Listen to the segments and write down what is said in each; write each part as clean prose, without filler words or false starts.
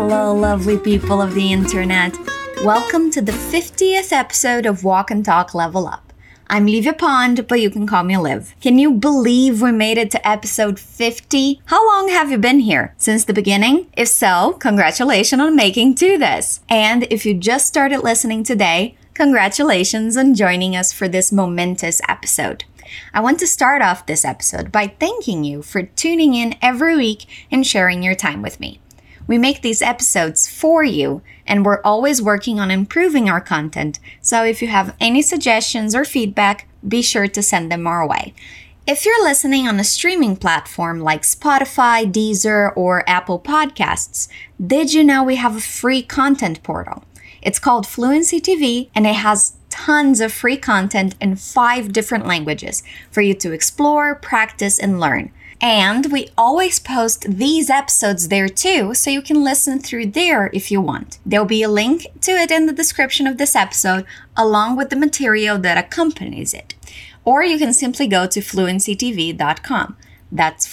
Hello, lovely people of the internet. Welcome to the 50th episode of Walk and Talk Level Up. I'm Livia Pond, but you can call me Liv. Can you believe we made it to episode 50? How long have you been here? Since the beginning? If so, congratulations on making to this. And if you just started listening today, congratulations on joining us for this momentous episode. I want to start off this episode by thanking you for tuning in every week and sharing your time with me. We make these episodes for you, and we're always working on improving our content, so if you have any suggestions or feedback, be sure to send them our way. If you're listening on a streaming platform like Spotify, Deezer, or Apple Podcasts, did you know we have a free content portal? It's called Fluency TV, and it has tons of free content in 5 different languages for you to explore, practice, and learn. And we always post these episodes there too, so you can listen through there if you want. There'll be a link to it in the description of this episode, along with the material that accompanies it. Or you can simply go to fluencytv.com. That's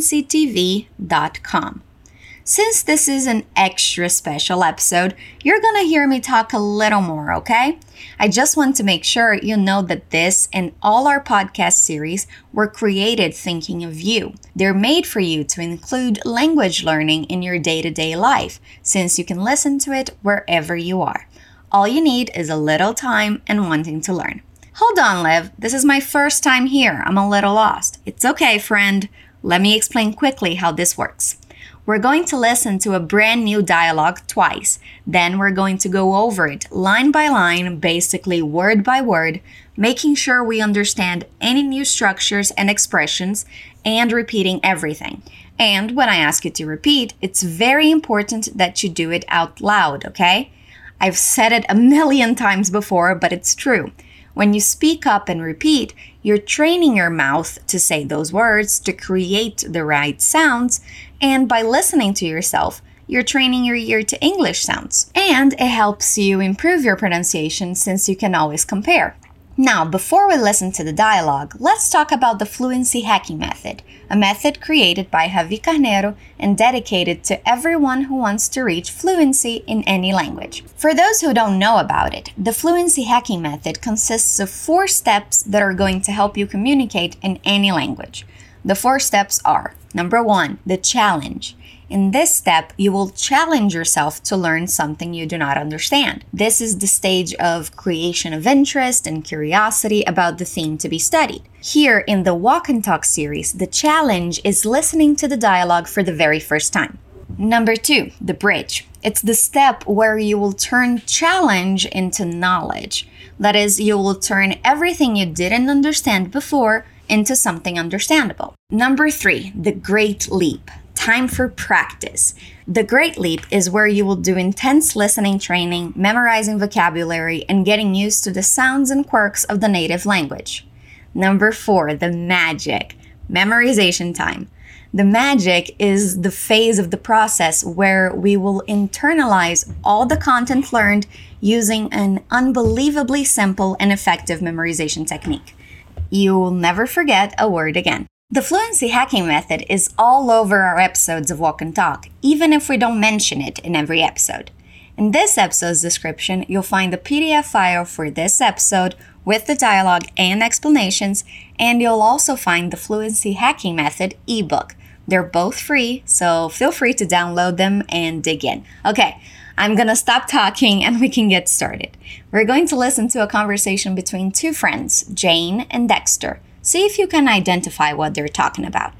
fluencytv.com. Since this is an extra special episode, you're gonna hear me talk a little more, okay? I just want to make sure you know that this and all our podcast series were created thinking of you. They're made for you to include language learning in your day-to-day life, since you can listen to it wherever you are. All you need is a little time and wanting to learn. Hold on, Liv. This is my first time here. I'm a little lost. It's okay, friend. Let me explain quickly how this works. We're going to listen to a brand new dialogue twice. Then we're going to go over it line by line, basically word by word, making sure we understand any new structures and expressions and repeating everything. And when I ask you to repeat, it's very important that you do it out loud, okay? I've said it a million times before, but it's true. When you speak up and repeat, you're training your mouth to say those words, to create the right sounds, and by listening to yourself, you're training your ear to English sounds. And it helps you improve your pronunciation since you can always compare. Now, before we listen to the dialogue, let's talk about the Fluency Hacking Method, a method created by Javi Carneiro and dedicated to everyone who wants to reach fluency in any language. For those who don't know about it, the Fluency Hacking Method consists of 4 steps that are going to help you communicate in any language. The 4 steps are: number 1, the challenge. In this step, you will challenge yourself to learn something you do not understand. This is the stage of creation of interest and curiosity about the theme to be studied. Here in the Walk and Talk series, the challenge is listening to the dialogue for the very first time. Number 2, the bridge. It's the step where you will turn challenge into knowledge. That is, you will turn everything you didn't understand before into something understandable. Number 3, the great leap. Time for practice. The Great Leap is where you will do intense listening training, memorizing vocabulary, and getting used to the sounds and quirks of the native language. Number 4, the magic. Memorization time. The magic is the phase of the process where we will internalize all the content learned using an unbelievably simple and effective memorization technique. You will never forget a word again. The Fluency Hacking Method is all over our episodes of Walk and Talk, even if we don't mention it in every episode. In this episode's description, you'll find the PDF file for this episode with the dialogue and explanations, and you'll also find the Fluency Hacking Method ebook. They're both free, so feel free to download them and dig in. Okay, I'm gonna stop talking and we can get started. We're going to listen to a conversation between 2 friends, Jane and Dexter. See if you can identify what they're talking about.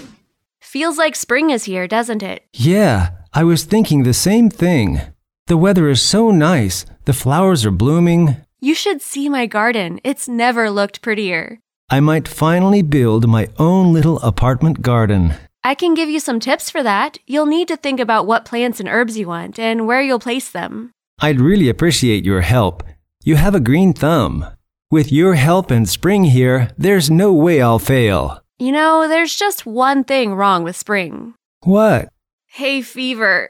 Feels like spring is here, doesn't it? Yeah, I was thinking the same thing. The weather is so nice. The flowers are blooming. You should see my garden. It's never looked prettier. I might finally build my own little apartment garden. I can give you some tips for that. You'll need to think about what plants and herbs you want and where you'll place them. I'd really appreciate your help. You have a green thumb. With your help and spring here, there's no way I'll fail. You know, there's just one thing wrong with spring. What? Hay fever.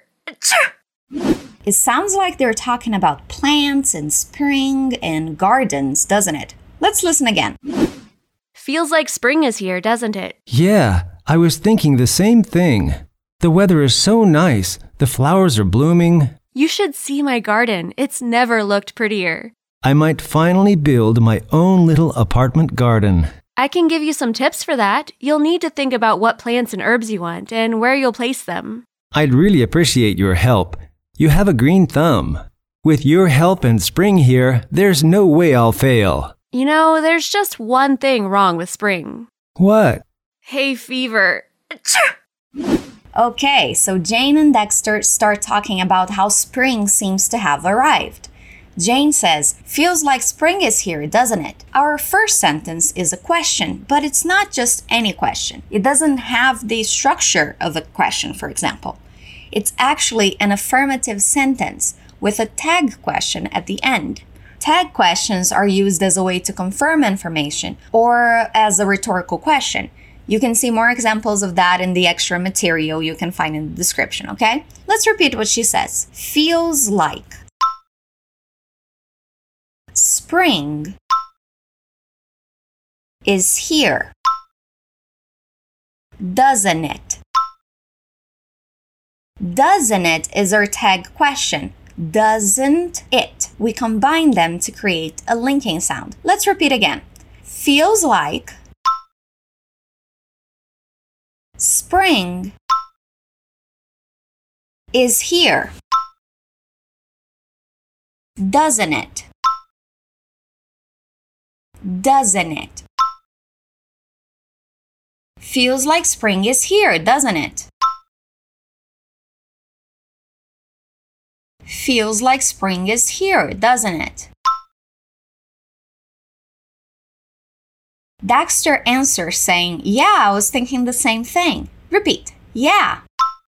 It sounds like they're talking about plants and spring and gardens, doesn't it? Let's listen again. Feels like spring is here, doesn't it? Yeah, I was thinking the same thing. The weather is so nice. The flowers are blooming. You should see my garden. It's never looked prettier. I might finally build my own little apartment garden. I can give you some tips for that. You'll need to think about what plants and herbs you want and where you'll place them. I'd really appreciate your help. You have a green thumb. With your help and spring here, there's no way I'll fail. You know, there's just one thing wrong with spring. What? Hay fever. Okay, so Jane and Dexter start talking about how spring seems to have arrived. Jane says, "Feels like spring is here, doesn't it?" Our first sentence is a question, but it's not just any question. It doesn't have the structure of a question, for example. It's actually an affirmative sentence with a tag question at the end. Tag questions are used as a way to confirm information or as a rhetorical question. You can see more examples of that in the extra material you can find in the description, okay? Let's repeat what she says. Feels like. Spring is here. Doesn't it? Doesn't it is our tag question. Doesn't it? We combine them to create a linking sound. Let's repeat again. Feels like spring is here. Doesn't it? Doesn't it? Feels like spring is here, doesn't it? Feels like spring is here, doesn't it? Dexter answers saying, "Yeah, I was thinking the same thing." Repeat. Yeah.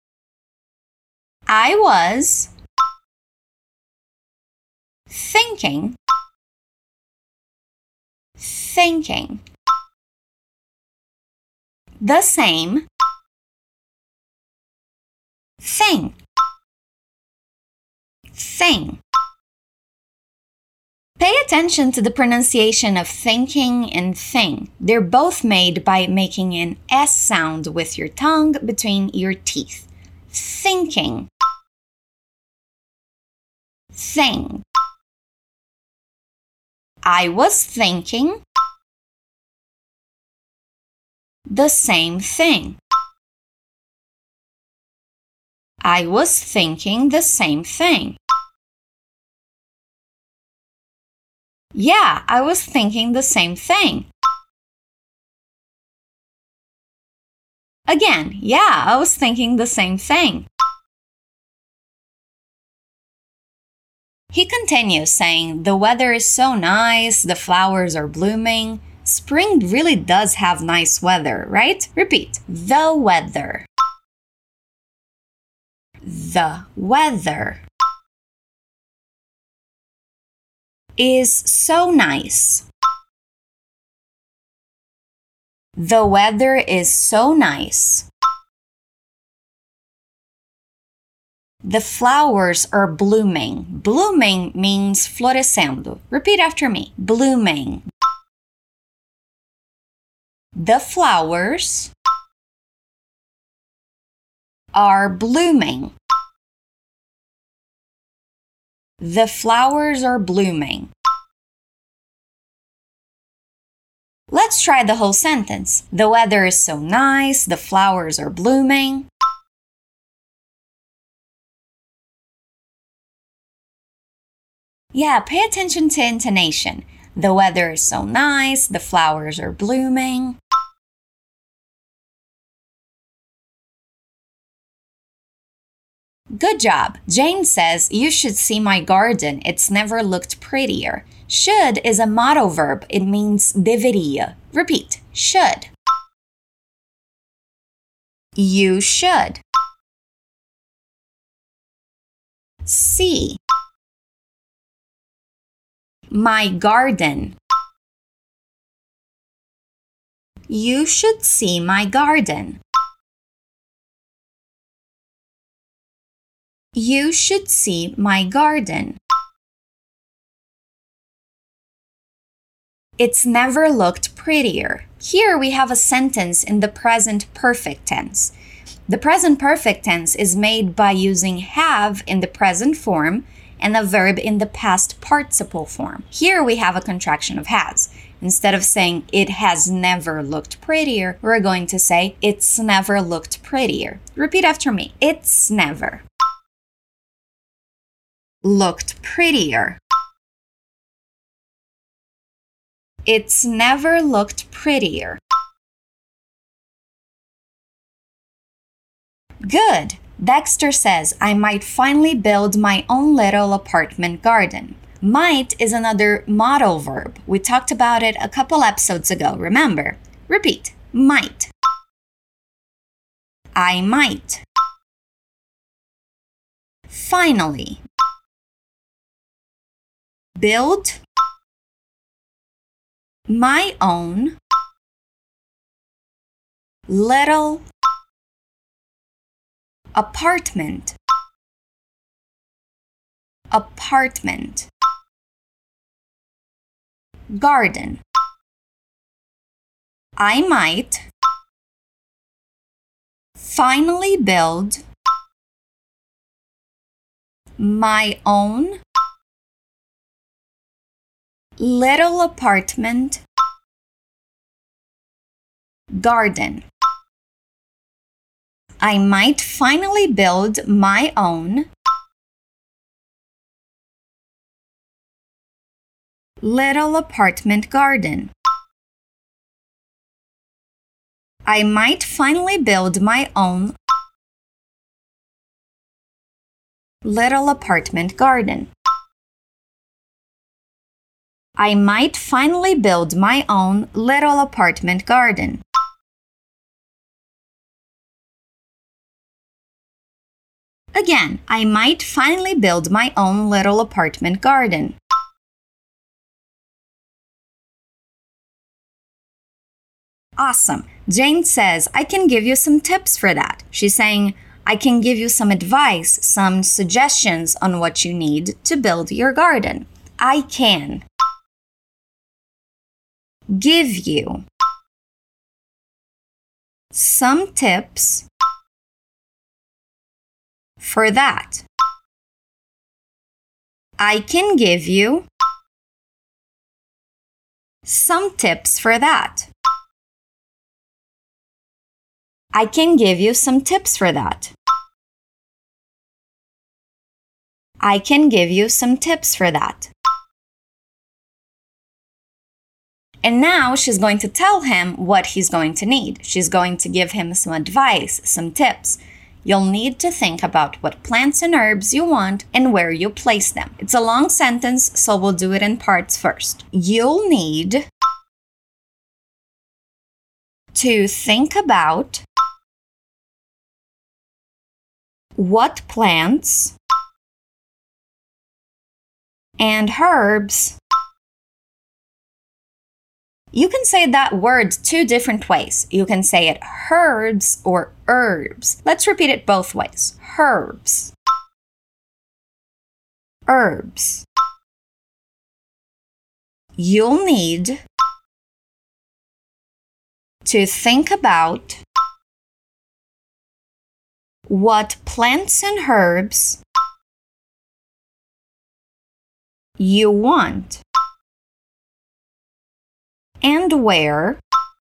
I was thinking the same thing. Pay attention to the pronunciation of thinking and thing. They're both made by making an S sound with your tongue between your teeth. Thinking. Thing. I was thinking the same thing. I was thinking the same thing. Yeah, I was thinking the same thing. Again, yeah, I was thinking the same thing. He continues saying, "The weather is so nice, the flowers are blooming." Spring really does have nice weather, right? Repeat. The weather. The weather is so nice. The weather is so nice. The flowers are blooming. Blooming means florescendo. Repeat after me. Blooming. The flowers are blooming. The flowers are blooming. Let's try the whole sentence. The weather is so nice. The flowers are blooming. Yeah, pay attention to intonation. The weather is so nice. The flowers are blooming. Good job. Jane says, "You should see my garden. It's never looked prettier." Should is a motto verb. It means deveria. Repeat. Should. You should. See. My garden. You should see my garden. You should see my garden. It's never looked prettier. Here we have a sentence in the present perfect tense. The present perfect tense is made by using have in the present form and a verb in the past participle form. Here we have a contraction of has. Instead of saying it has never looked prettier, we're going to say it's never looked prettier. Repeat after me. It's never looked prettier. It's never looked prettier. Good. Dexter says, I might finally build my own little apartment garden. Might is another modal verb. We talked about it a couple episodes ago, remember? Repeat. Might. I might. Finally. Build my own little apartment. Apartment. Garden. I might finally build my own little apartment garden. I might finally build my own little apartment garden. I might finally build my own little apartment garden. I might finally build my own little apartment garden. Again, I might finally build my own little apartment garden. Awesome. Jane says, I can give you some tips for that. She's saying, I can give you some advice, some suggestions on what you need to build your garden. I can give you some tips for that. I can give you some tips for that. I can give you some tips for that. I can give you some tips for that. And now she's going to tell him what he's going to need. She's going to give him some advice, some tips. You'll need to think about what plants and herbs you want and where you place them. It's a long sentence, so we'll do it in parts first. You'll need to think about what plants and herbs. You can say that word two different ways. You can say it herbs or herbs. Let's repeat it both ways. Herbs. Herbs. You'll need to think about what plants and herbs you want and where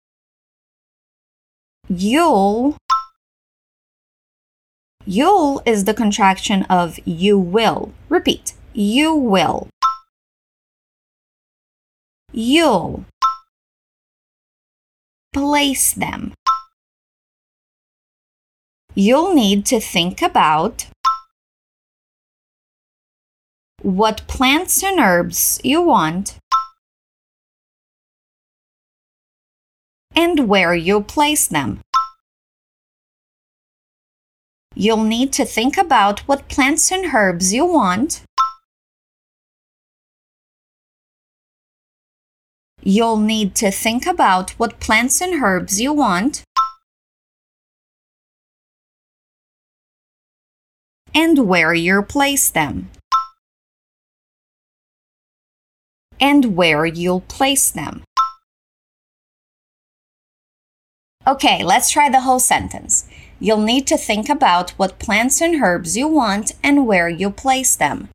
you'll is the contraction of you will. Repeat. You will. You'll place them. You'll need to think about what plants and herbs you want and where you'll place them. You'll need to think about what plants and herbs you want. You'll need to think about what plants and herbs you want and where you'll place them. And where you'll place them. Okay, let's try the whole sentence. You'll need to think about what plants and herbs you want and where you'll place them.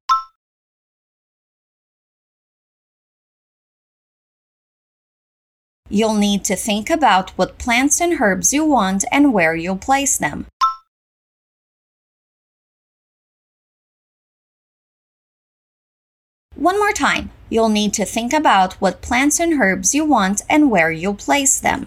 You'll need to think about what plants and herbs you want and where you'll place them. One more time. You'll need to think about what plants and herbs you want and where you'll place them.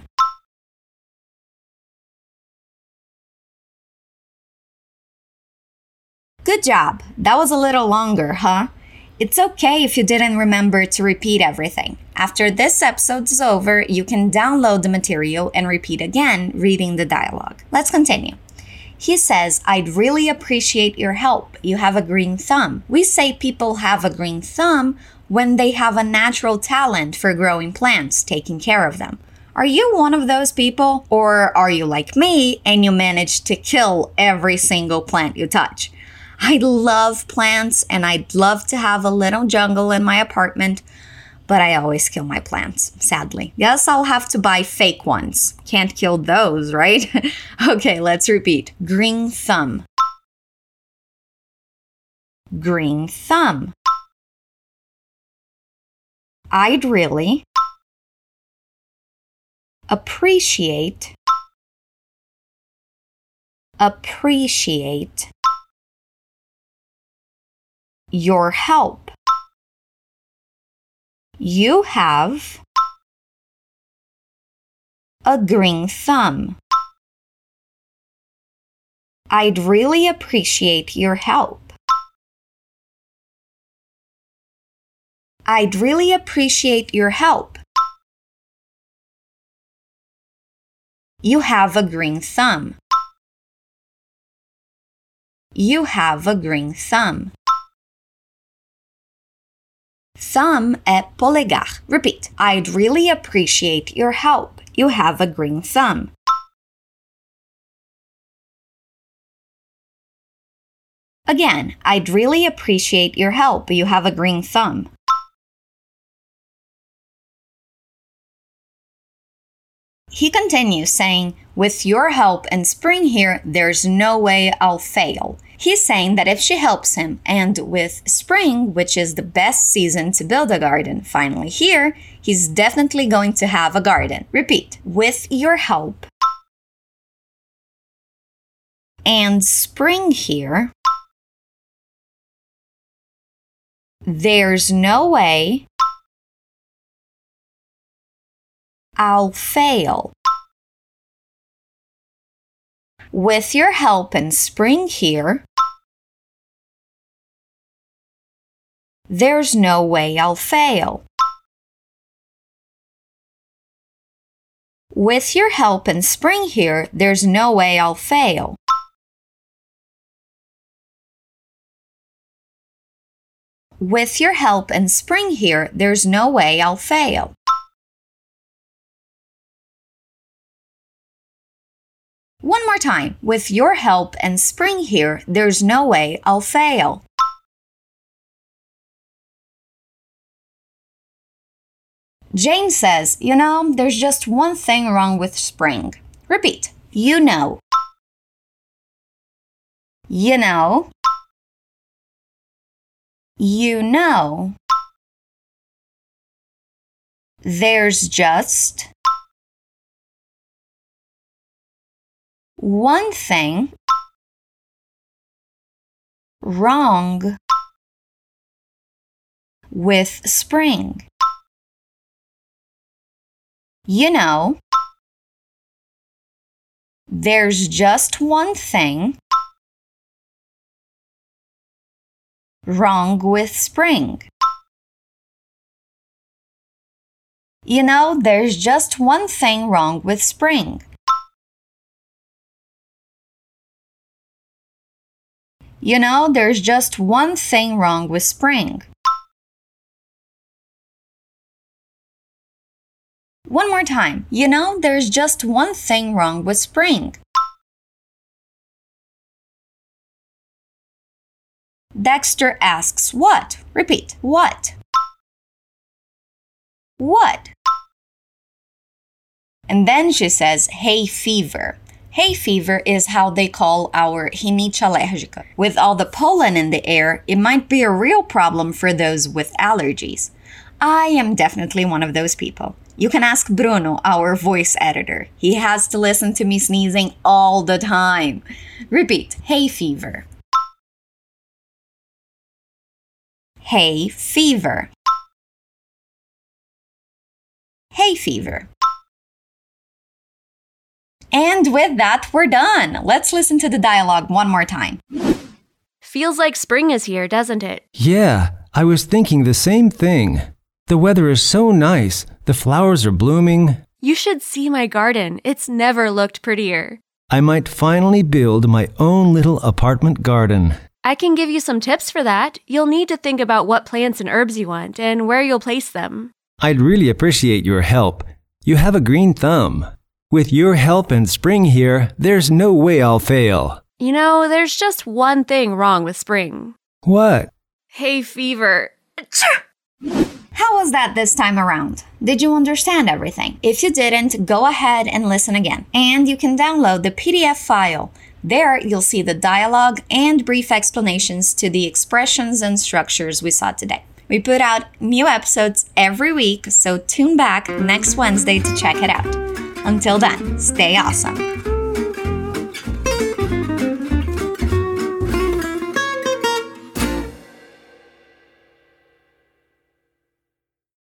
Good job. That was a little longer, huh? It's okay if you didn't remember to repeat everything. After this episode is over, you can download the material and repeat again, reading the dialogue. Let's continue. He says, I'd really appreciate your help. You have a green thumb. We say people have a green thumb when they have a natural talent for growing plants, taking care of them. Are you one of those people? Or are you like me and you manage to kill every single plant you touch? I love plants and I'd love to have a little jungle in my apartment, but I always kill my plants, sadly. Guess I'll have to buy fake ones. Can't kill those, right? Okay, let's repeat. Green thumb. Green thumb. I'd really appreciate your help. You have a green thumb. I'd really appreciate your help. I'd really appreciate your help. You have a green thumb. You have a green thumb. Thumb é polegar. Repeat. I'd really appreciate your help. You have a green thumb. Again, I'd really appreciate your help. You have a green thumb. He continues saying, with your help and Spring here, there's no way I'll fail. He's saying that if she helps him, and with Spring, which is the best season to build a garden, finally here, he's definitely going to have a garden. Repeat. With your help and Spring here, there's no way I'll fail. With your help and Spring here, there's no way I'll fail. With your help and Spring here, there's no way I'll fail. With your help and Spring here, there's no way I'll fail. One more time. With your help and Spring here, there's no way I'll fail. Jane says, there's just one thing wrong with Spring. Repeat. You know. You know. You know. There's just one thing wrong with Spring. There's just one thing wrong with Spring. There's just one thing wrong with Spring. There's just one thing wrong with Spring. One more time. There's just one thing wrong with Spring. Dexter asks, what? Repeat. What? What? And then she says hay fever. Hay fever is how they call our rinite alérgica. With all the pollen in the air, it might be a real problem for those with allergies. I am definitely one of those people. You can ask Bruno, our voice editor. He has to listen to me sneezing all the time. Repeat, hay fever. Hay fever. Hay fever. And with that, we're done. Let's listen to the dialogue one more time. Feels like spring is here, doesn't it? Yeah, I was thinking the same thing. The weather is so nice. The flowers are blooming. You should see my garden. It's never looked prettier. I might finally build my own little apartment garden. I can give you some tips for that. You'll need to think about what plants and herbs you want and where you'll place them. I'd really appreciate your help. You have a green thumb. With your help and spring here, there's no way I'll fail. You know, there's just one thing wrong with spring. What? Hay fever. How was that this time around? Did you understand everything? If you didn't, go ahead and listen again. And you can download the PDF file. There, you'll see the dialogue and brief explanations to the expressions and structures we saw today. We put out new episodes every week, so tune back next Wednesday to check it out. Until then, stay awesome.